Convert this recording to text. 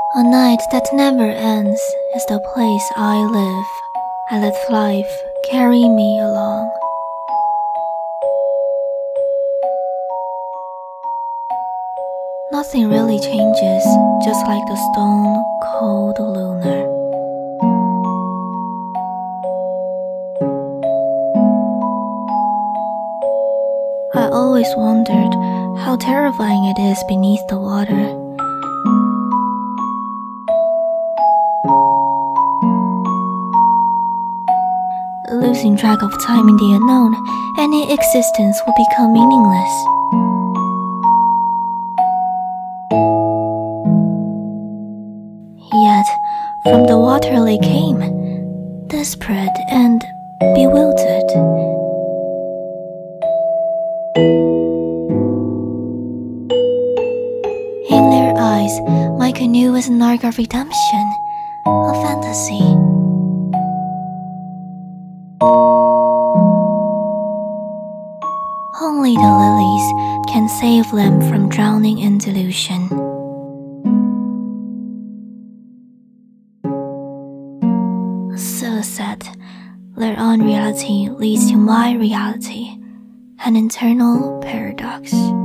A night that never ends is the place I live. I let life carry me along. Nothing really changes, just like the stone cold lunar. I always wondered how terrifying it is beneath the water. Losing track of time in the unknown, any existence will become meaningless. Yet, from the water they came, desperate and bewildered. In their eyes, my canoe was an arc of redemption, a fantasy. Only the lilies can save them from drowning in delusion. So sad, their own reality leads to my reality, an internal paradox.